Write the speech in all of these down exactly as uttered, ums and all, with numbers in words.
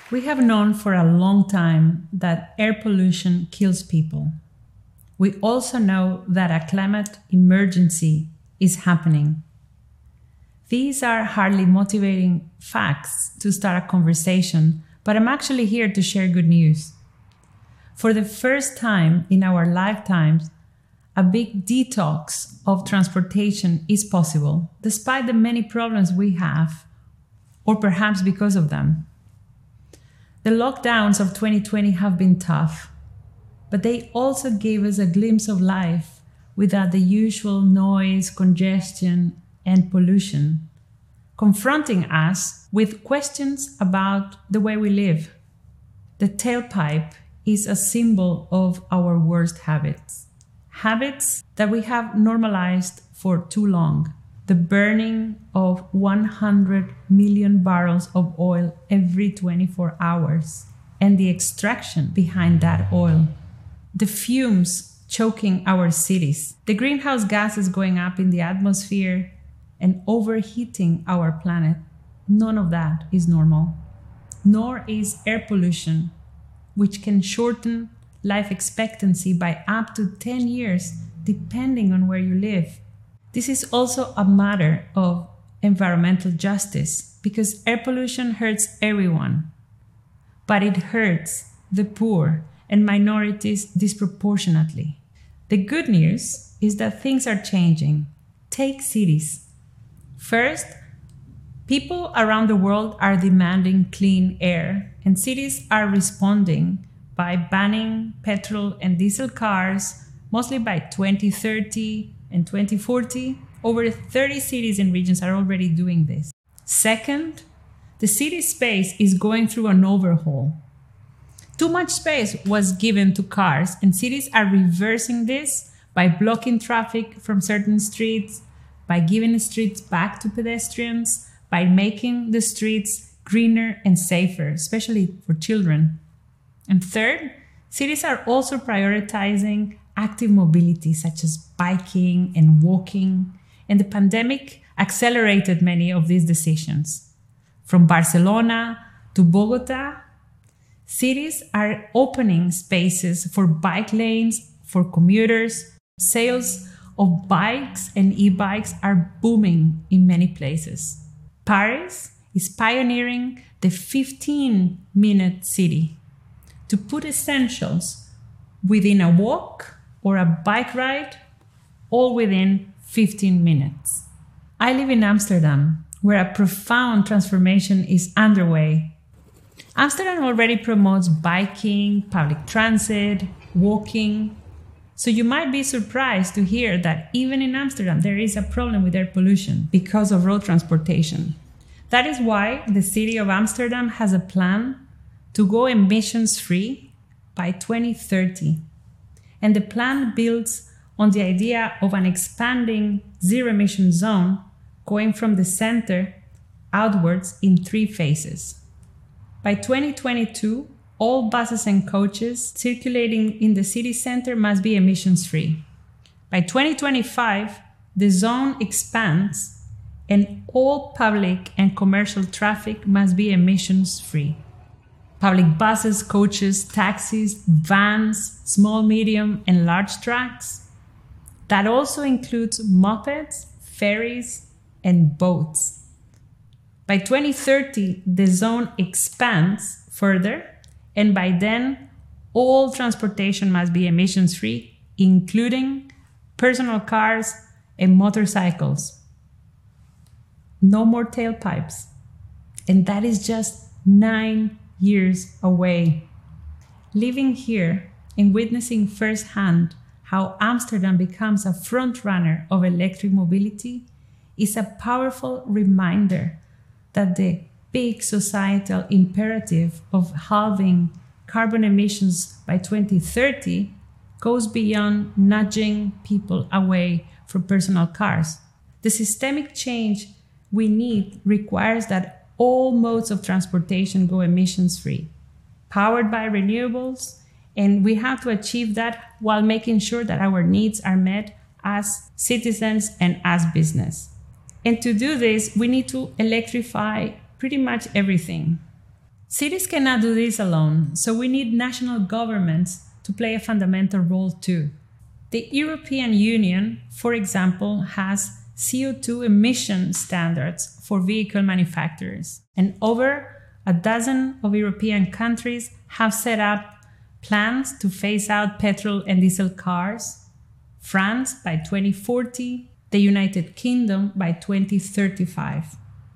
We have known for a long time that air pollution kills people. We also know that a climate emergency is happening. These are hardly motivating facts to start a conversation, but I'm actually here to share good news. For the first time in our lifetimes, a big detox of transportation is possible, despite the many problems we have, or perhaps because of them. The lockdowns of twenty twenty have been tough, but they also gave us a glimpse of life without the usual noise, congestion, and pollution, confronting us with questions about the way we live. The tailpipe is a symbol of our worst habits, habits that we have normalized for too long. The burning of one hundred million barrels of oil every twenty-four hours, and the extraction behind that oil. The fumes choking our cities, the greenhouse gases going up in the atmosphere and overheating our planet. None of that is normal. Nor is air pollution, which can shorten life expectancy by up to ten years, depending on where you live. This is also a matter of environmental justice, because air pollution hurts everyone, but it hurts the poor and minorities disproportionately. The good news is that things are changing. Take cities. First, people around the world are demanding clean air, and cities are responding by banning petrol and diesel cars, mostly by twenty thirty and twenty forty. Over thirty cities and regions are already doing this. Second, the city space is going through an overhaul. Too much space was given to cars, and cities are reversing this by blocking traffic from certain streets, by giving the streets back to pedestrians, by making the streets greener and safer, especially for children. And third, cities are also prioritizing active mobility, such as biking and walking, and the pandemic accelerated many of these decisions. From Barcelona to Bogota, cities are opening spaces for bike lanes, for commuters. Sales of bikes and e-bikes are booming in many places. Paris is pioneering the fifteen-minute city to put essentials within a walk or a bike ride, all within fifteen minutes. I live in Amsterdam, where a profound transformation is underway. Amsterdam already promotes biking, public transit, walking. So you might be surprised to hear that even in Amsterdam, there is a problem with air pollution because of road transportation. That is why the city of Amsterdam has a plan to go emissions-free by twenty thirty. And the plan builds on the idea of an expanding zero-emission zone going from the center outwards in three phases. By twenty twenty-two, all buses and coaches circulating in the city center must be emissions-free. By twenty twenty-five, the zone expands and all public and commercial traffic must be emissions-free. Public buses, coaches, taxis, vans, small, medium, and large trucks. That also includes mopeds, ferries, and boats. By twenty thirty, the zone expands further, and by then, all transportation must be emissions-free, including personal cars and motorcycles. No more tailpipes. And that is just nine years away. Living here and witnessing firsthand how Amsterdam becomes a front-runner of electric mobility is a powerful reminder that the big societal imperative of halving carbon emissions by twenty thirty goes beyond nudging people away from personal cars. The systemic change we need requires that all modes of transportation go emissions-free, powered by renewables, and we have to achieve that while making sure that our needs are met as citizens and as business. And to do this, we need to electrify pretty much everything. Cities cannot do this alone, so we need national governments to play a fundamental role too. The European Union, for example, has C O two emission standards for vehicle manufacturers, and over a dozen of European countries have set up plans to phase out petrol and diesel cars. France by twenty forty, the United Kingdom by twenty thirty-five.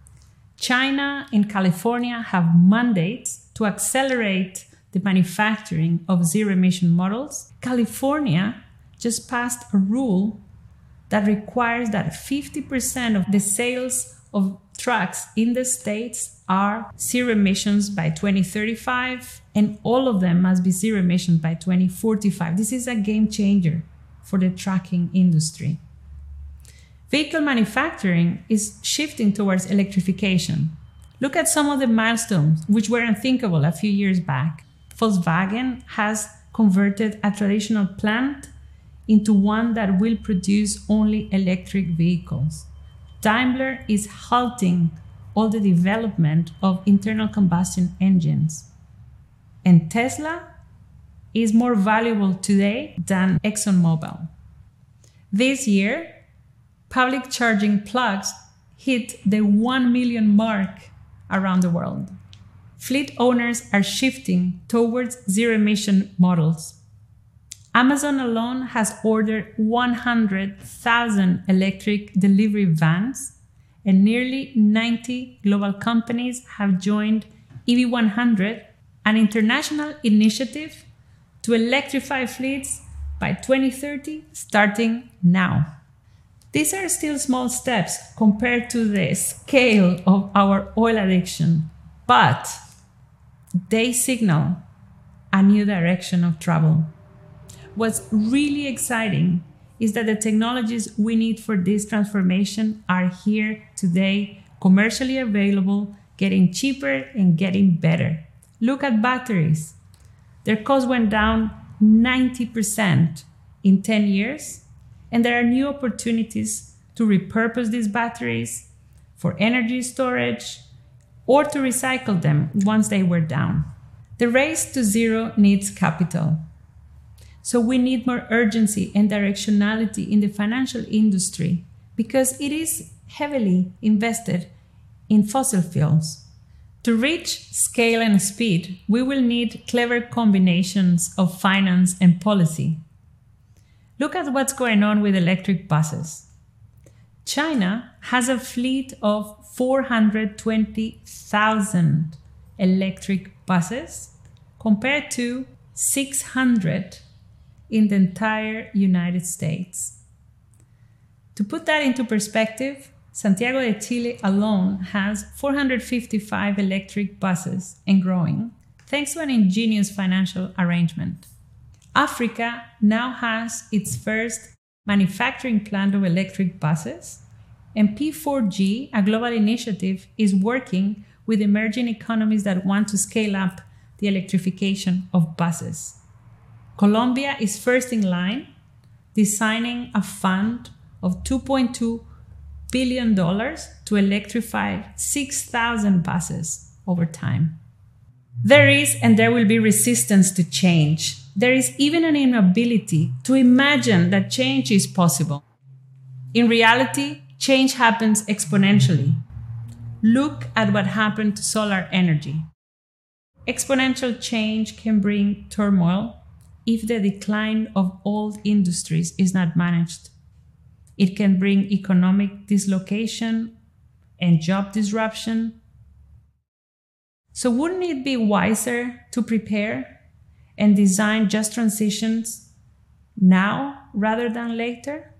China and California have mandates to accelerate the manufacturing of zero-emission models. California just passed a rule that requires that fifty percent of the sales of trucks in the States are zero emissions by twenty thirty-five, and all of them must be zero emissions by twenty forty-five. This is a game changer for the trucking industry. Vehicle manufacturing is shifting towards electrification. Look at some of the milestones which were unthinkable a few years back. Volkswagen has converted a traditional plant into one that will produce only electric vehicles. Daimler is halting all the development of internal combustion engines. And Tesla is more valuable today than ExxonMobil. This year, public charging plugs hit the one million mark around the world. Fleet owners are shifting towards zero-emission models. Amazon alone has ordered one hundred thousand electric delivery vans, and nearly ninety global companies have joined E V one hundred, an international initiative to electrify fleets by twenty thirty, starting now. These are still small steps compared to the scale of our oil addiction, but they signal a new direction of travel. What's really exciting is that the technologies we need for this transformation are here today, commercially available, getting cheaper and getting better. Look at batteries. Their cost went down ninety percent in ten years, and there are new opportunities to repurpose these batteries for energy storage or to recycle them once they were down. The race to zero needs capital. So we need more urgency and directionality in the financial industry because it is heavily invested in fossil fuels. To reach scale and speed, we will need clever combinations of finance and policy. Look at what's going on with electric buses. China has a fleet of four hundred twenty thousand electric buses compared to six hundred in the entire United States. To put that into perspective, Santiago de Chile alone has four hundred fifty-five electric buses and growing, thanks to an ingenious financial arrangement. Africa now has its first manufacturing plant of electric buses, and P four G, a global initiative, is working with emerging economies that want to scale up the electrification of buses. Colombia is first in line, designing a fund of two point two billion dollars to electrify six thousand buses over time. There is and there will be resistance to change. There is even an inability to imagine that change is possible. In reality, change happens exponentially. Look at what happened to solar energy. Exponential change can bring turmoil if the decline of old industries is not managed. It can bring economic dislocation and job disruption. So wouldn't it be wiser to prepare and design just transitions now rather than later?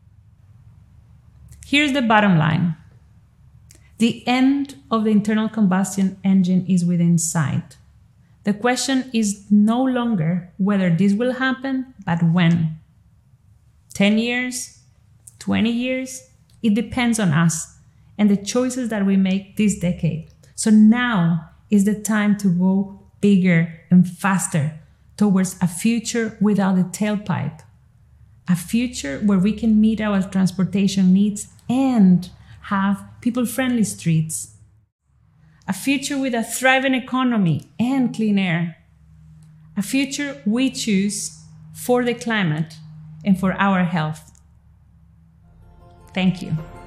Here's the bottom line. The end of the internal combustion engine is within sight. The question is no longer whether this will happen, but when. ten years? twenty years? It depends on us and the choices that we make this decade. So now is the time to go bigger and faster towards a future without a tailpipe. A future where we can meet our transportation needs and have people-friendly streets. a future with a thriving economy and clean air, a future we choose for the climate and for our health. Thank you.